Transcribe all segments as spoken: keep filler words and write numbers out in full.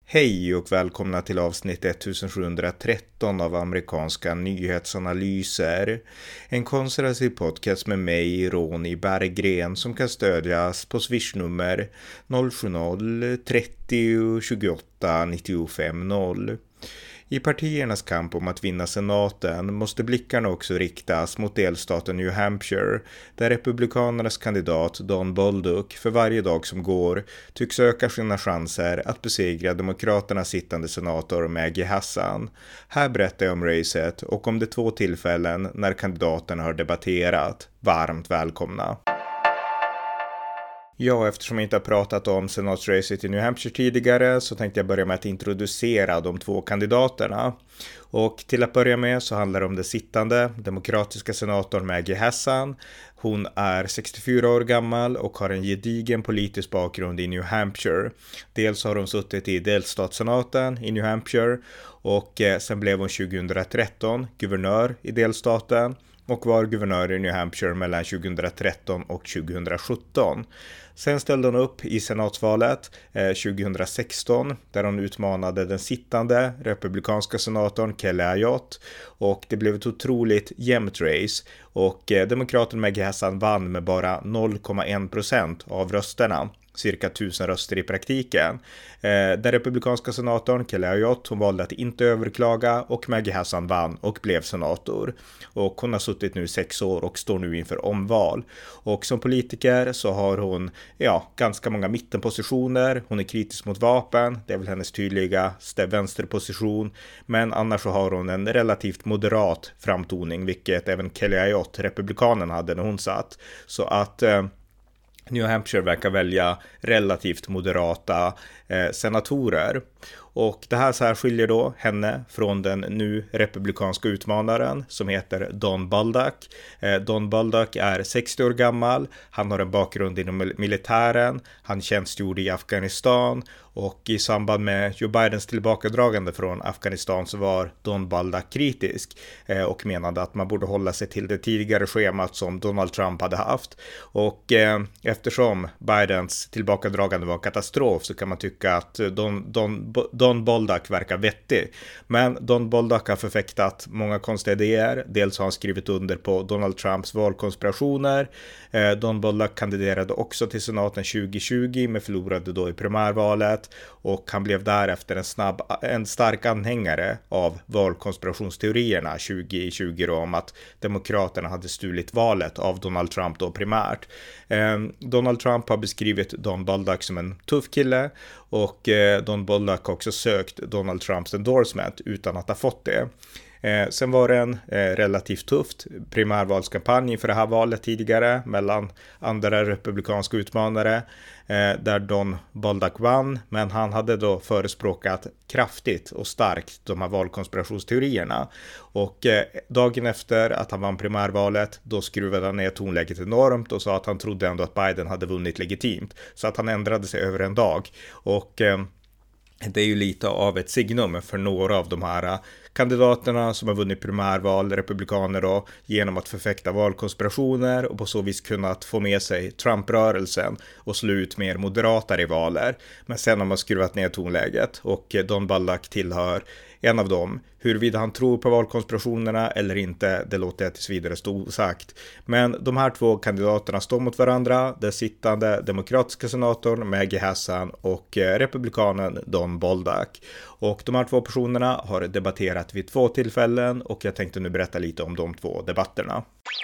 Hej och välkomna till avsnitt sjuttonhundratretton av amerikanska nyhetsanalyser. En konservativ podcast med mig, Ronny Berggren, som kan stödjas på swishnummer noll sju noll trettio tjugoåtta nittiofem noll. I partiernas kamp om att vinna senaten måste blickarna också riktas mot delstaten New Hampshire, där republikanernas kandidat Don Bolduc för varje dag som går tycks öka sina chanser att besegra demokraternas sittande senator Maggie Hassan. Här berättar jag om racet och om de två tillfällen när kandidaterna har debatterat. Varmt välkomna! Ja, eftersom jag inte har pratat om senatsracet i New Hampshire tidigare så tänkte jag börja med att introducera de två kandidaterna. Och till att börja med så handlar det om den sittande demokratiska senatorn Maggie Hassan. Hon är sextiofyra år gammal och har en gedigen politisk bakgrund i New Hampshire. Dels har hon suttit i delstatssenaten i New Hampshire och sen blev hon tjugohundratretton guvernör i delstaten och var guvernör i New Hampshire mellan tjugohundratretton och tjugosjutton. Sen ställde hon upp i senatsvalet eh, tjugohundrasexton där hon utmanade den sittande republikanska senatorn Kelly Ayotte, och det blev ett otroligt jämnt race och eh, demokraten Maggie Hassan vann med bara noll komma en procent av rösterna. Cirka tusen röster i praktiken. Eh, den republikanska senatorn Kelly Ayotte, hon valde att inte överklaga och Maggie Hassan vann och blev senator. Och hon har suttit nu sex år och står nu inför omval. Och som politiker så har hon ja, ganska många mittenpositioner. Hon är kritisk mot vapen, det är väl hennes tydligaste vänsterposition. Men annars så har hon en relativt moderat framtoning, vilket även Kelly Ayotte, republikanen, hade när hon satt. Så att Eh, New Hampshire verkar välja relativt moderata eh, senatorer. Och det här särskiljer då henne från den nu republikanska utmanaren som heter Don Bolduc. Eh, Don Bolduc är sextio år gammal, han har en bakgrund inom militären, han tjänstgjorde i Afghanistan och i samband med Joe Bidens tillbakadragande från Afghanistan så var Don Bolduc kritisk eh, och menade att man borde hålla sig till det tidigare schemat som Donald Trump hade haft. Och eh, eftersom Bidens tillbakadragande var en katastrof så kan man tycka att Don, Don, Don Bolduc verkar vettig. Men Don Bolduc har förfäktat många konstiga idéer. Dels har han skrivit under på Donald Trumps valkonspirationer. Eh, Don Bolduc kandiderade också till senaten tjugohundratjugo men förlorade då i primärvalet. Och han blev därefter en, snabb, en stark anhängare av valkonspirationsteorierna tjugohundratjugo om att demokraterna hade stulit valet av Donald Trump då primärt. Eh, Donald Trump har beskrivit Don Bolduc som en tuff kille och eh, Don Bolduc har också sökt Donald Trumps endorsement utan att ha fått det. Eh, sen var det en eh, relativt tufft primärvalskampanj för det här valet tidigare mellan andra republikanska utmanare eh, där Don Bolduc vann, men han hade då förespråkat kraftigt och starkt de här valkonspirationsteorierna. Och eh, dagen efter att han vann primärvalet då skruvade han ner tonläget enormt och sa att han trodde ändå att Biden hade vunnit legitimt, så att han ändrade sig över en dag. Och eh, det är ju lite av ett signum för några av de här kandidaterna som har vunnit primärval, republikaner då, genom att förfäkta valkonspirationer och på så vis kunnat få med sig Trump-rörelsen och slå ut mer moderata rivaler. Men sen har man skruvat ner tonläget och Don Bolduc tillhör en av dem. Huruvida han tror på valkonspirationerna eller inte, det låter jag tills vidare stå osagt. Men de här två kandidaterna står mot varandra. Den sittande demokratiska senatorn Maggie Hassan och republikanen Don Bolduc. Och de här två personerna har debatterat vid två tillfällen och jag tänkte nu berätta lite om de två debatterna.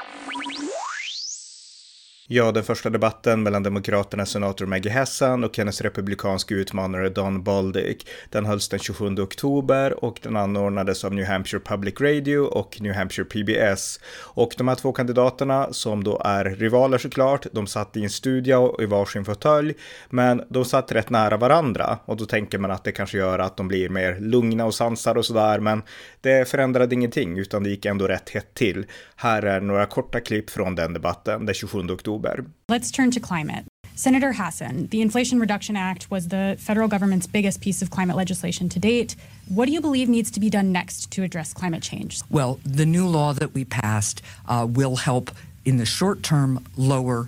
Ja, den första debatten mellan demokraternas senator Maggie Hassan och hennes republikanska utmanare Don Bolduc, den hölls den tjugosjunde oktober och den anordnades av New Hampshire Public Radio och New Hampshire P B S. Och de här två kandidaterna, som då är rivaler såklart, de satt i en studio i varsin fåtölj, men de satt rätt nära varandra och då tänker man att det kanske gör att de blir mer lugna och sansade och sådär, men det förändrade ingenting utan det gick ändå rätt hett till. Här är några korta klipp från den debatten den tjugosjunde oktober. Let's turn to climate. Senator Hassan, the Inflation Reduction Act was the federal government's biggest piece of climate legislation to date. What do you believe needs to be done next to address climate change? Well, the new law that we passed uh, will help in the short term lower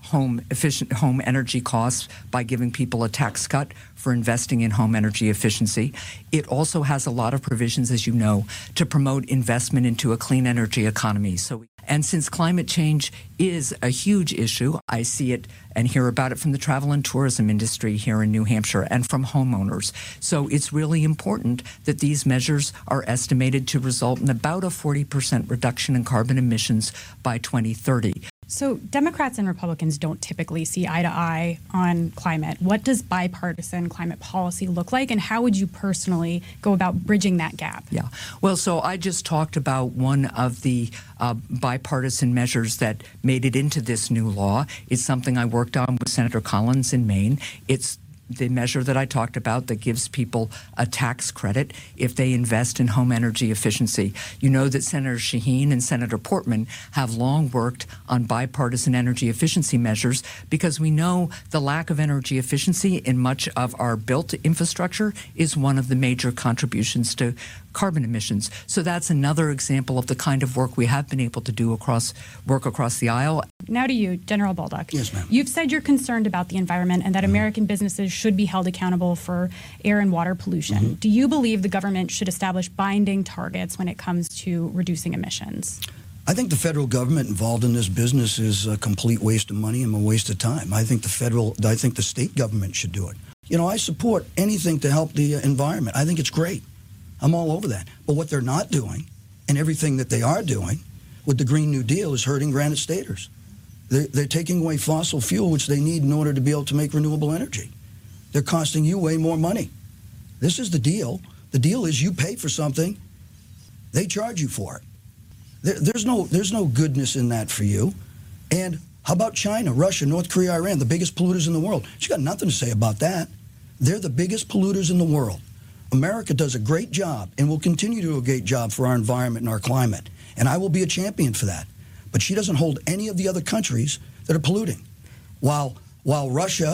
home efficient home energy costs by giving people a tax cut for investing in home energy efficiency. It also has a lot of provisions, as you know, to promote investment into a clean energy economy. So, and since climate change is a huge issue, I see it and hear about it from the travel and tourism industry here in New Hampshire and from homeowners. So it's really important that these measures are estimated to result in about a forty percent reduction in carbon emissions by twenty thirty. So Democrats and Republicans don't typically see eye to eye on climate. What does bipartisan climate policy look like, and how would you personally go about bridging that gap? Yeah. Well, so I just talked about one of the uh, bipartisan measures that made it into this new law. It's something I worked on with Senator Collins in Maine. It's the measure that I talked about that gives people a tax credit if they invest in home energy efficiency. You know that Senator Shaheen and Senator Portman have long worked on bipartisan energy efficiency measures because we know the lack of energy efficiency in much of our built infrastructure is one of the major contributions to carbon emissions. So that's another example of the kind of work we have been able to do across work across the aisle. Now to you, General Bolduc. Yes, ma'am. You've said you're concerned about the environment and that mm-hmm. American businesses should be held accountable for air and water pollution. Mm-hmm. Do you believe the government should establish binding targets when it comes to reducing emissions? I think the federal government involved in this business is a complete waste of money and a waste of time. I think the federal, I think the state government should do it. You know, I support anything to help the environment. I think it's great. I'm all over that. But what they're not doing, and everything that they are doing with the Green New Deal, is hurting Granite Staters. They're, they're taking away fossil fuel, which they need in order to be able to make renewable energy. They're costing you way more money. This is the deal. The deal is you pay for something, they charge you for it. There, there's no, there's no goodness in that for you. And how about China, Russia, North Korea, Iran, the biggest polluters in the world? She's got nothing to say about that. They're the biggest polluters in the world. America does a great job and will continue to do a great job for our environment and our climate. And I will be a champion for that. But she doesn't hold any of the other countries that are polluting. While, while Russia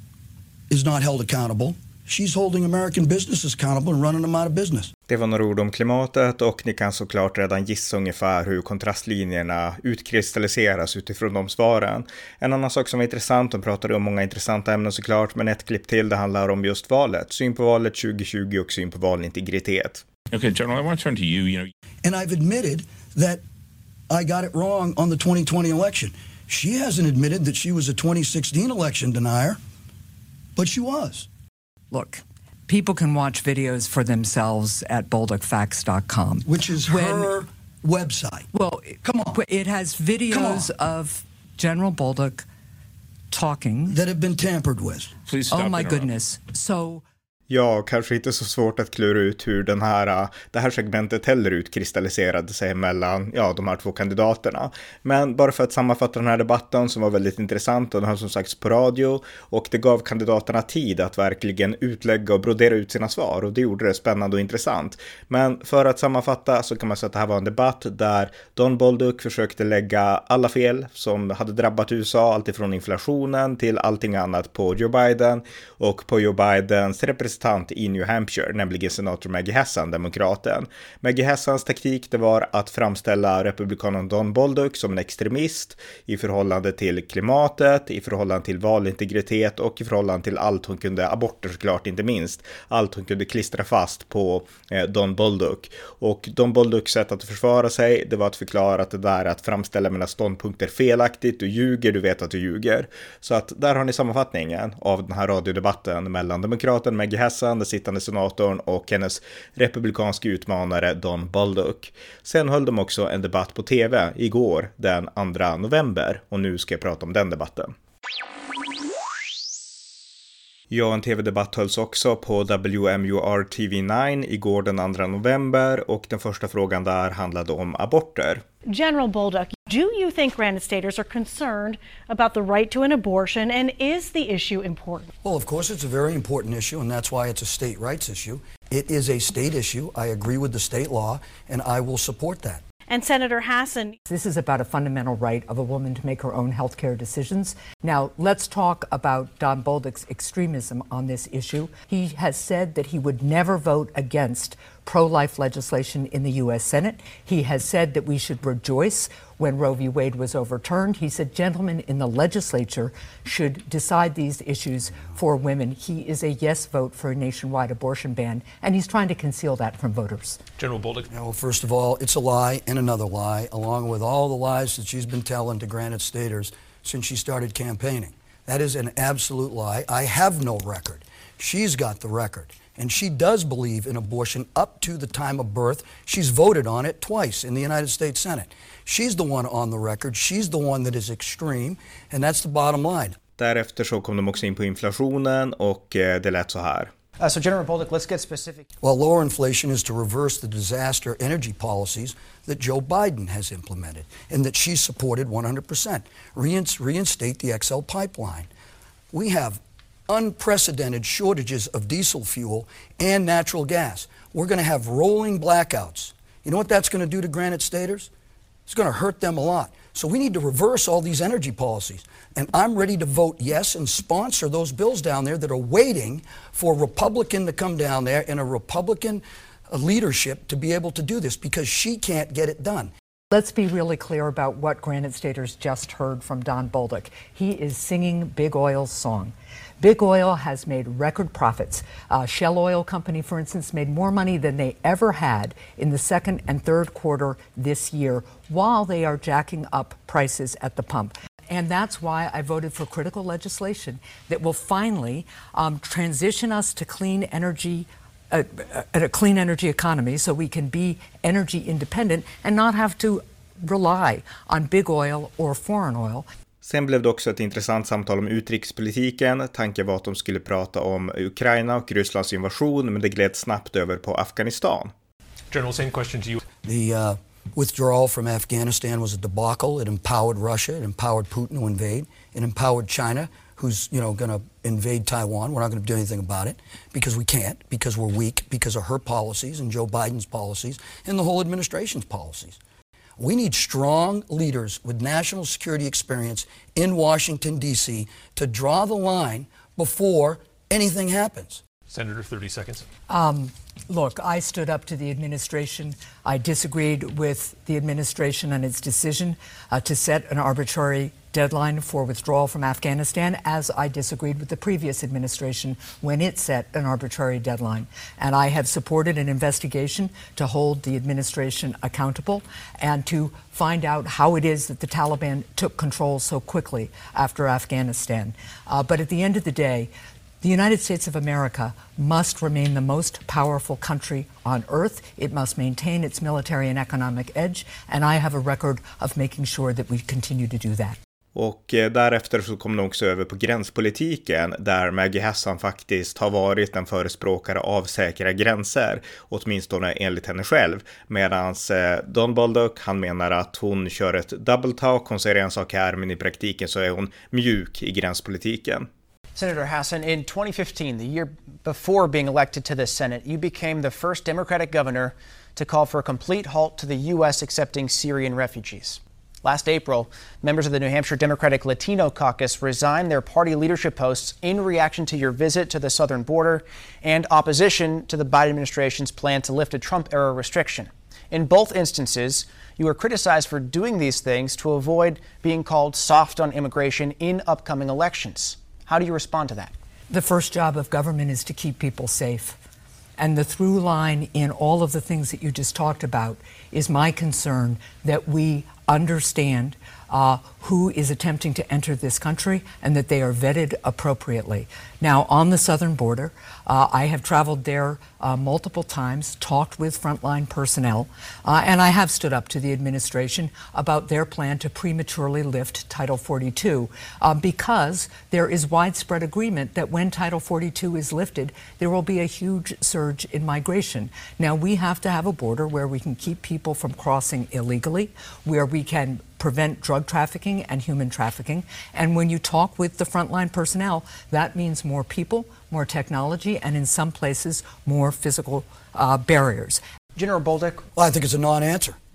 is not held accountable, she's holding American businesses accountable and running them out of business. Det var några ord om klimatet, och ni kan såklart redan gissa ungefär hur kontrastlinjerna utkristalliseras utifrån de svaren. En annan sak som är intressant, de pratade om många intressanta ämnen såklart, men ett klipp till, det handlar om just valet. Syn på valet tjugo tjugo och syn på valintegritet. Okay, General, I want to turn to you, you know. And I've admitted that I got it wrong on the twenty twenty election. She hasn't admitted that she was a twenty sixteen election denier, but she was. Look, people can watch videos for themselves at bolduc facts dot com. Which is when, her website. Well, come on. It has videos of General Bolduc talking. That have been tampered with. Please stop. Oh my goodness. So... Ja, kanske inte så svårt att klura ut hur den här, det här segmentet heller utkristalliserade sig mellan ja, de här två kandidaterna. Men bara för att sammanfatta den här debatten som var väldigt intressant, och den har som sagt på radio, och det gav kandidaterna tid att verkligen utlägga och brodera ut sina svar, och det gjorde det spännande och intressant. Men för att sammanfatta så kan man säga att det här var en debatt där Don Bolduc försökte lägga alla fel som hade drabbat U S A, alltifrån inflationen till allting annat på Joe Biden, och på Joe Bidens representant i New Hampshire, nämligen senator Maggie Hassan, demokraten. Maggie Hassans taktik, det var att framställa republikanen Don Bolduc som en extremist i förhållande till klimatet, i förhållande till valintegritet och i förhållande till allt hon kunde, aborter såklart inte minst, allt hon kunde klistra fast på eh, Don Bolduc. Och Don Bolducs sätt att försvara sig, det var att förklara att det där att framställa mina ståndpunkter felaktigt, du ljuger, du vet att du ljuger. Så att där har ni sammanfattningen av den här radiodebatten mellan demokraten Maggie Hassan, den sittande senatorn, och hennes republikanska utmanare Don Bolduc. Sen höll de också en debatt på tv igår den andra november, och nu ska jag prata om den debatten. Ja, en tv-debatt hölls också på W M U R T V nio igår den andra november, och den första frågan där handlade om aborter. General Bolduc, do you think Granite Staters are concerned about the right to an abortion, and is the issue important? Well, of course it's a very important issue, and that's why it's a state rights issue. It is a state issue. I agree with the state law, and I will support that. And Senator Hassan. This is about a fundamental right of a woman to make her own health care decisions. Now, let's talk about Don Bolduc's extremism on this issue. He has said that he would never vote against pro-life legislation in the U S Senate. He has said that we should rejoice when Roe v. Wade was overturned. He said gentlemen in the legislature should decide these issues for women. He is a yes vote for a nationwide abortion ban, and he's trying to conceal that from voters. General Bolduc. Yeah, well, first of all, it's a lie and another lie, along with all the lies that she's been telling to Granite Staters since she started campaigning. That is an absolute lie. I have no record. She's got the record. And she does believe in abortion up to the time of birth. She's voted on it twice in the United States Senate. She's the one on the record. She's the one that is extreme. And that's the bottom line. Därefter så kom de också in på inflationen och eh, det lät så här. Uh, so General Bolduc, let's get specific. Well, lower inflation is to reverse the disaster energy policies that Joe Biden has implemented and that she supported one hundred percent. Rein- reinstate the X L pipeline. We have unprecedented shortages of diesel fuel and natural gas. We're going to have rolling blackouts. You know what that's going to do to Granite Staters? It's going to hurt them a lot. So we need to reverse all these energy policies. And I'm ready to vote yes and sponsor those bills down there that are waiting for a Republican to come down there and a Republican leadership to be able to do this, because she can't get it done. Let's be really clear about what Granite Staters just heard from Don Bolduc. He is singing Big Oil's song. Big Oil has made record profits. Uh, Shell Oil Company, for instance, made more money than they ever had in the second and third quarter this year, while they are jacking up prices at the pump. And that's why I voted for critical legislation that will finally um, transition us to clean energy, uh, a clean energy economy, so we can be energy independent and not have to rely on big oil or foreign oil. Sen blev det också ett intressant samtal om utrikespolitiken. Tanken var att de skulle prata om Ukraina och Rysslands invasion, men det gled snabbt över på Afghanistan. General, same question to you. The uh, withdrawal from Afghanistan was a debacle. It empowered Russia. It empowered Putin to invade. It empowered China, who's, you know, going to invade Taiwan. We're not going to do anything about it because we can't, because we're weak, because of her policies and Joe Biden's policies and the whole administration's policies. We need strong leaders with national security experience in Washington, D C to draw the line before anything happens. Senator, thirty seconds. Um, look, I stood up to the administration. I disagreed with the administration and its decision uh, to set an arbitrary deadline for withdrawal from Afghanistan, as I disagreed with the previous administration when it set an arbitrary deadline. And I have supported an investigation to hold the administration accountable and to find out how it is that the Taliban took control so quickly after Afghanistan. Uh, but at the end of the day, the United States of America must remain the most powerful country on earth. It must maintain its military and economic edge, and I have a record of making sure that we continue to do that. Och eh, därefter så kom de också över på gränspolitiken, där Maggie Hassan faktiskt har varit en förespråkare av säkra gränser, åtminstone enligt henne själv. Medan eh, Don Bolduc, han menar att hon kör ett double talk. Hon säger en sak här, men i praktiken så är hon mjuk i gränspolitiken. Senator Hassan, in twenty fifteen, the year before being elected to the Senate, you became the first Democratic governor to call for a complete halt to the U S accepting Syrian refugees. Last April, members of the New Hampshire Democratic Latino Caucus resigned their party leadership posts in reaction to your visit to the southern border and opposition to the Biden administration's plan to lift a Trump-era restriction. In both instances, you were criticized for doing these things to avoid being called soft on immigration in upcoming elections. How do you respond to that? The first job of government is to keep people safe. And the through line in all of the things that you just talked about is my concern that we understand uh, who is attempting to enter this country and that they are vetted appropriately. Now, on the southern border, uh, I have traveled there uh, multiple times, talked with frontline personnel, uh, and I have stood up to the administration about their plan to prematurely lift Title forty-two uh, because there is widespread agreement that when Title forty-two is lifted, there will be a huge surge in migration. Now, we have to have a border where we can keep people from crossing illegally, where we can prevent drug trafficking and human trafficking. And when you talk with the frontline personnel, that means more people, more technology, and in some places, more physical uh, barriers. General Bolduc. Well, I think it's a non-answer.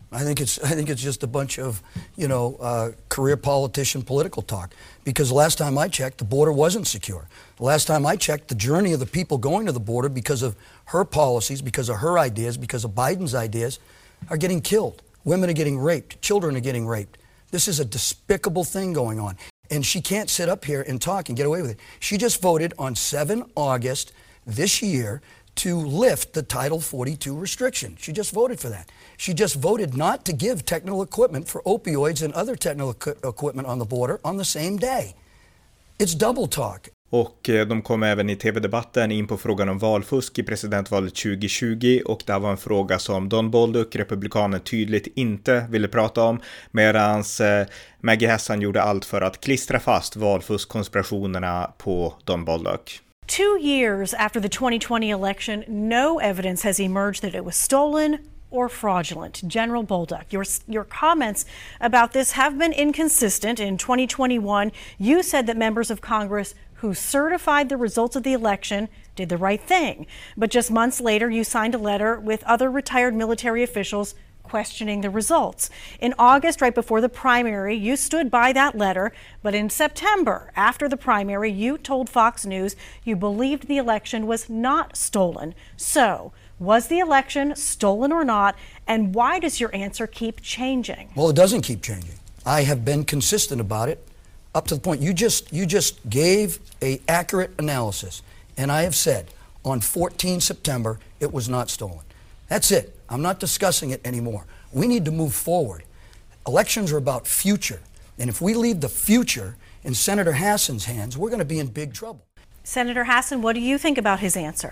I think it's I think it's just a bunch of, you know, uh, career politician political talk. Because last time I checked, the border wasn't secure. The last time I checked, the journey of the people going to the border because of her policies, because of her ideas, because of Biden's ideas, are getting killed. Women are getting raped. Children are getting raped. This is a despicable thing going on. And she can't sit up here and talk and get away with it. She just voted on the seventh of August this year to lift the Title forty-two restriction. She just voted for that. She just voted not to give technical equipment for opioids and other technical equipment on the border on the same day. It's double talk. Och de kom även i tv-debatten in på frågan om valfusk i presidentvalet tjugo tjugo, och det var en fråga som Don Bolduc, republikanen, tydligt inte ville prata om, medan eh, Maggie Hassan gjorde allt för att klistra fast valfuskkonspirationerna på Don Bolduc. Two years after the twenty twenty election, no evidence has emerged that it was stolen or fraudulent. General Bolduc, your, your comments about this have been inconsistent. In twenty twenty-one, you said that members of Congress who certified the results of the election did the right thing. But just months later, you signed a letter with other retired military officials questioning the results. In August, right before the primary, you stood by that letter. But in September, after the primary, you told Fox News you believed the election was not stolen. So, was the election stolen or not? And why does your answer keep changing? Well, it doesn't keep changing. I have been consistent about it up to the point you just you just gave a accurate analysis. And I have said on the fourteenth of September it was not stolen. That's it. I'm not discussing it anymore. We need to move forward. Elections are about future. And if we leave the future in Senator Hassan's hands, we're going to be in big trouble. Senator Hassan, what do you think about his answer?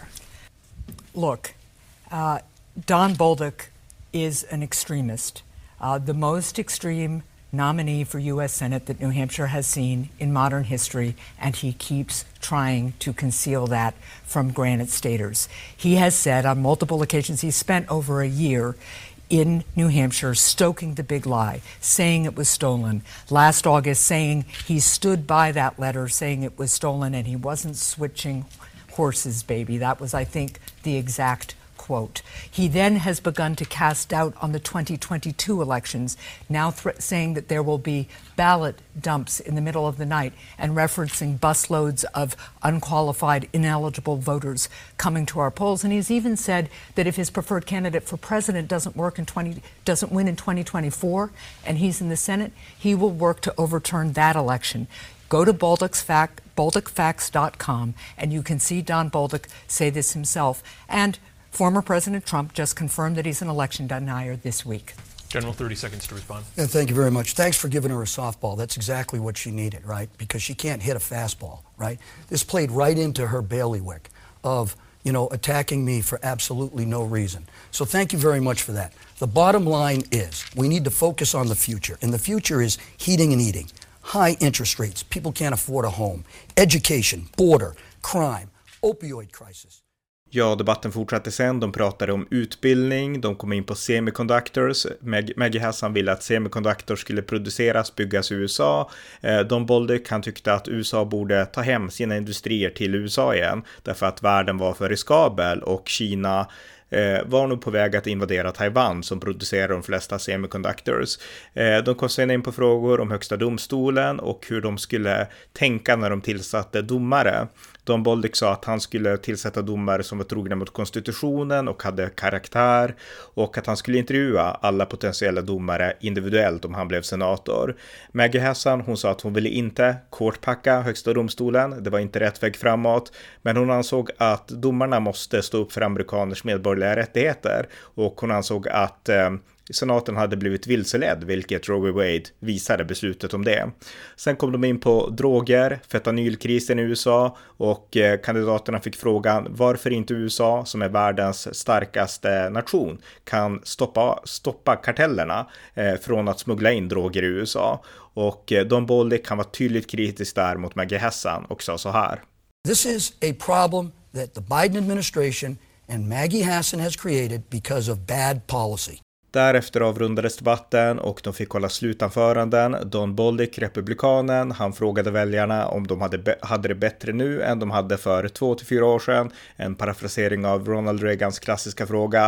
Look, uh, Don Bolduc is an extremist, uh, the most extreme nominee for U S Senate that New Hampshire has seen in modern history, and he keeps trying to conceal that from Granite Staters. He has said on multiple occasions, he spent over a year in New Hampshire stoking the big lie, saying it was stolen. Last August, saying he stood by that letter, saying it was stolen, and he wasn't switching horses, baby. That was, I think, the exact quote. He then has begun to cast doubt on the twenty twenty-two elections, now th- saying that there will be ballot dumps in the middle of the night and referencing busloads of unqualified, ineligible voters coming to our polls. And he's even said that if his preferred candidate for president doesn't work in twenty doesn't win in twenty twenty-four and he's in the Senate, he will work to overturn that election. Go to Bolduc's fact, bolduc facts dot com, and you can see Don Bolduc say this himself. And former President Trump just confirmed that he's an election denier this week. General, thirty seconds to respond. Yeah, thank you very much. Thanks for giving her a softball. That's exactly what she needed, right? Because she can't hit a fastball, right? This played right into her bailiwick of, you know, attacking me for absolutely no reason. So thank you very much for that. The bottom line is we need to focus on the future. And the future is heating and eating. High interest rates. People can't afford a home. Education, border, crime, opioid crisis. Ja, debatten fortsatte sen. De pratade om utbildning, de kom in på semiconductors. Mag- Maggie Hassan ville att semiconductors skulle produceras, byggas i U S A. Eh, Don Bolduc, han tyckte att U S A borde ta hem sina industrier till U S A igen, därför att världen var för riskabel och Kina eh, var nog på väg att invadera Taiwan som producerar de flesta semiconductors. Eh, de kom sen in på frågor om högsta domstolen och hur de skulle tänka när de tillsatte domare. Don Bolduc sa att han skulle tillsätta domare som var trogna mot konstitutionen och hade karaktär, och att han skulle intervjua alla potentiella domare individuellt om han blev senator. Maggie Hassan, hon sa att hon ville inte kortpacka högsta domstolen, det var inte rätt väg framåt, men hon ansåg att domarna måste stå upp för amerikaners medborgerliga rättigheter, och hon ansåg att eh, senaten hade blivit vilseledd, vilket Roe v. Wade visade beslutet om det. Sen kom de in på droger, fentanylkrisen i U S A, och eh, kandidaterna fick frågan varför inte U S A, som är världens starkaste nation, kan stoppa, stoppa kartellerna eh, från att smuggla in droger i U S A. Och eh, Don Bolduc kan vara tydligt kritisk där mot Maggie Hassan och sa så här. This is a problem that the Biden administration and Maggie Hassan has created because of bad policy. Därefter avrundades debatten och de fick hålla slutanföranden. Don Bolduc, republikanen, han frågade väljarna om de hade, be- hade det bättre nu än de hade för två till fyra år sedan. En parafrasering av Ronald Reagans klassiska fråga.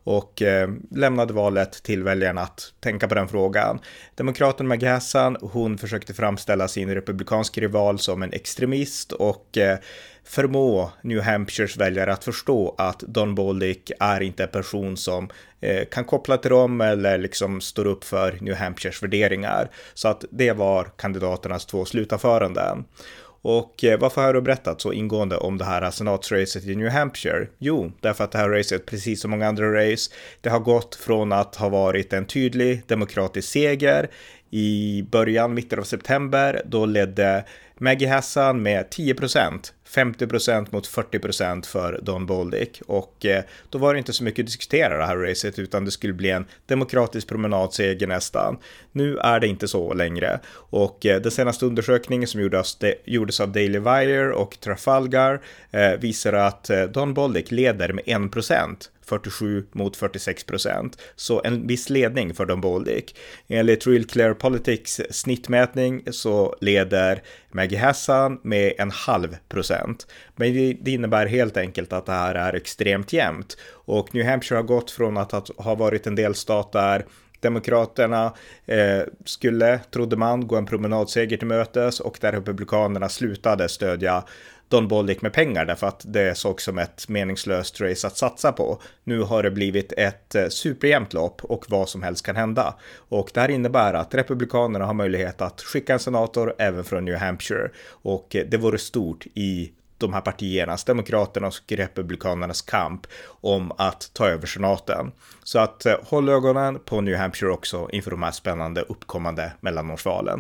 och eh, lämnade valet till väljarna att tänka på den frågan. Demokraten Maggie Hassan, hon försökte framställa sin republikanska rival som en extremist och eh, förmå New Hampshires väljare att förstå att Don Bolduc är inte en person som eh, kan koppla till dem eller liksom står upp för New Hampshires värderingar. Så att det var kandidaternas två slutanföranden. Och eh, varför har jag då berättat så ingående om det här senatsracet i New Hampshire? Jo, därför att det här racet, precis som många andra race, det har gått från att ha varit en tydlig demokratisk seger. I början, mitten av september, då ledde Maggie Hassan med tio procent, femtio procent mot fyrtio procent för Don Bolduc, och eh, då var det inte så mycket att diskutera det här racet, utan det skulle bli en demokratisk promenadseger nästan. Nu är det inte så längre, och eh, den senaste undersökningen som gjordes, de, gjordes av Daily Wire och Trafalgar eh, visar att eh, Don Bolduc leder med en procent. fyrtiosju mot fyrtiosex procent. Så en viss ledning för Don Bolduc. Enligt Real Clear Politics snittmätning så leder Maggie Hassan med en halv procent. Men det innebär helt enkelt att det här är extremt jämnt. Och New Hampshire har gått från att ha varit en delstat där Demokraterna eh, skulle, trodde man, gå en promenadseger till mötes, och där republikanerna slutade stödja Don Bolduc med pengar därför att det såg som ett meningslöst race att satsa på. Nu har det blivit ett eh, superjämnt lopp och vad som helst kan hända. Och det här innebär att republikanerna har möjlighet att skicka en senator även från New Hampshire, och eh, det vore stort i de här partiernas, demokraternas och republikanernas kamp om att ta över senaten. Så att eh, håll ögonen på New Hampshire också inför de här spännande uppkommande mellanårsvalen.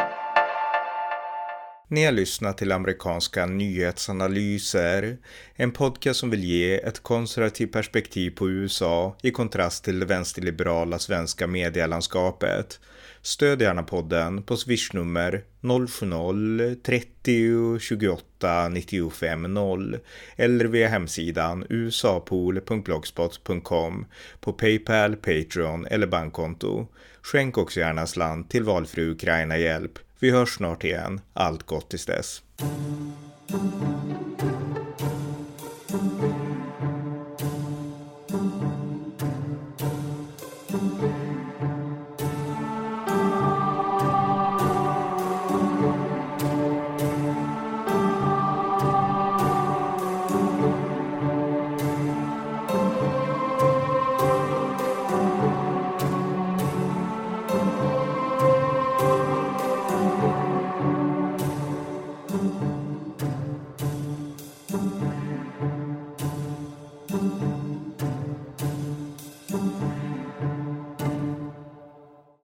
Ni har lyssnat till amerikanska nyhetsanalyser, en podcast som vill ge ett konservativt perspektiv på U S A i kontrast till det vänsterliberala svenska medielandskapet. Stöd gärna podden på swishnummer noll sju noll trettio tjugoåtta nittiofem noll eller via hemsidan usapool punkt blogspot punkt com, på PayPal, Patreon eller bankkonto. Skänk också gärna slant till valfri Ukraina-hjälp. Vi hörs snart igen. Allt gott tills dess. Thank you.